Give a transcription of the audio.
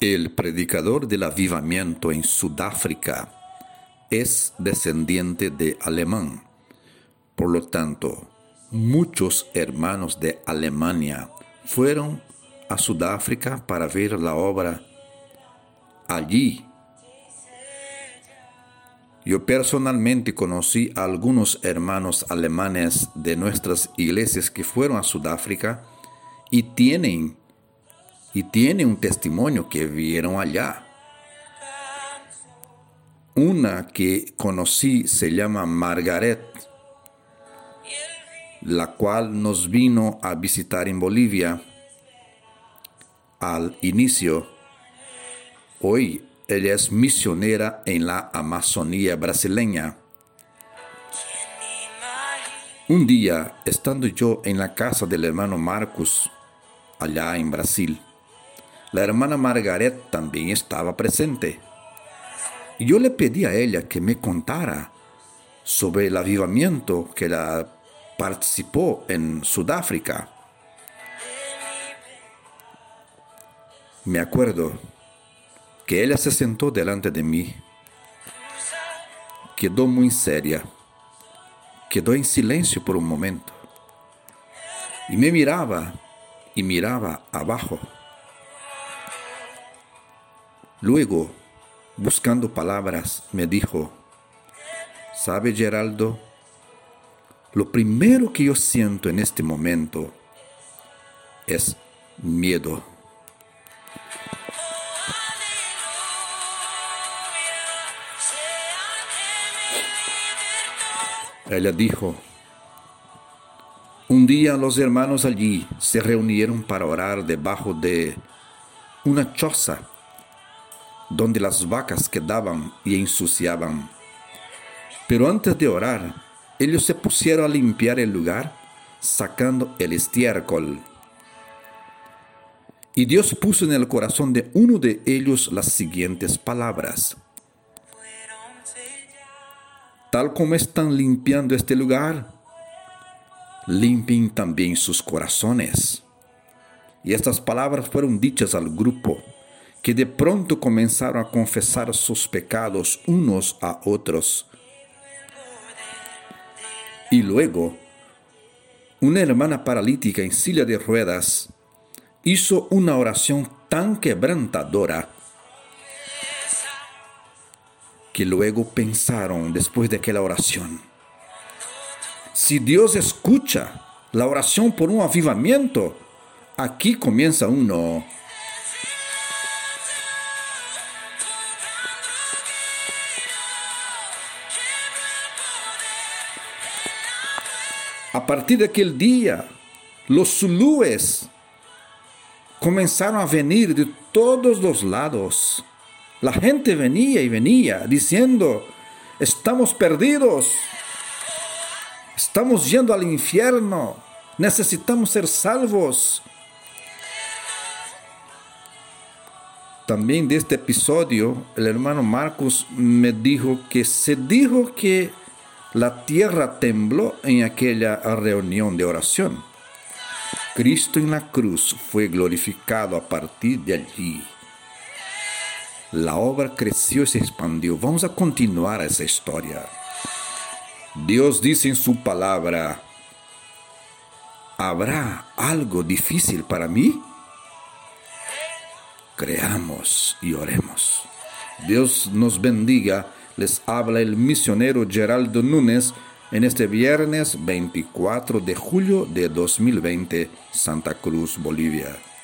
El predicador del avivamiento en Sudáfrica es descendiente de alemán. Por lo tanto, muchos hermanos de Alemania fueron a Sudáfrica para ver la obra allí. Yo personalmente conocí a algunos hermanos alemanes de nuestras iglesias que fueron a Sudáfrica y tienen un testimonio que vieron allá. Una que conocí se llama Margaret, la cual nos vino a visitar en Bolivia al inicio. Hoy ella es misionera en la Amazonía brasileña. Un día, estando yo en la casa del hermano Marcos, allá en Brasil, la hermana Margaret también estaba presente. Y yo le pedí a ella que me contara sobre el avivamiento que ella participó en Sudáfrica. Me acuerdo que ella se sentó delante de mí, quedó muy seria, quedó en silencio por un momento y me miraba y miraba abajo. Luego, buscando palabras, me dijo: ¿sabe, Geraldo? Lo primero que yo siento en este momento es miedo. Ella dijo: un día los hermanos allí se reunieron para orar debajo de una choza donde las vacas quedaban y ensuciaban. Pero antes de orar, ellos se pusieron a limpiar el lugar, sacando el estiércol. Y Dios puso en el corazón de uno de ellos las siguientes palabras: tal como están limpiando este lugar, limpien también sus corazones. Y estas palabras fueron dichas al grupo, que de pronto comenzaron a confesar sus pecados unos a otros. Y luego, una hermana paralítica en silla de ruedas hizo una oración tan quebrantadora que luego pensaron, después de aquella oración: si Dios escucha la oración por un avivamiento, aquí comienza uno. A partir de aquel día, los zulúes comenzaron a venir de todos los lados. La gente venía y venía diciendo: estamos perdidos, estamos yendo al infierno, necesitamos ser salvos. También de este episodio, el hermano Marcos me dijo que se dijo que la tierra tembló en aquella reunión de oración. Cristo en la cruz fue glorificado a partir de allí. La obra creció y se expandió. Vamos a continuar esa historia. Dios dice en su palabra: ¿habrá algo difícil para mí? Creamos y oremos. Dios nos bendiga. Les habla el misionero Geraldo Núñez en este viernes 24 de julio de 2020, Santa Cruz, Bolivia.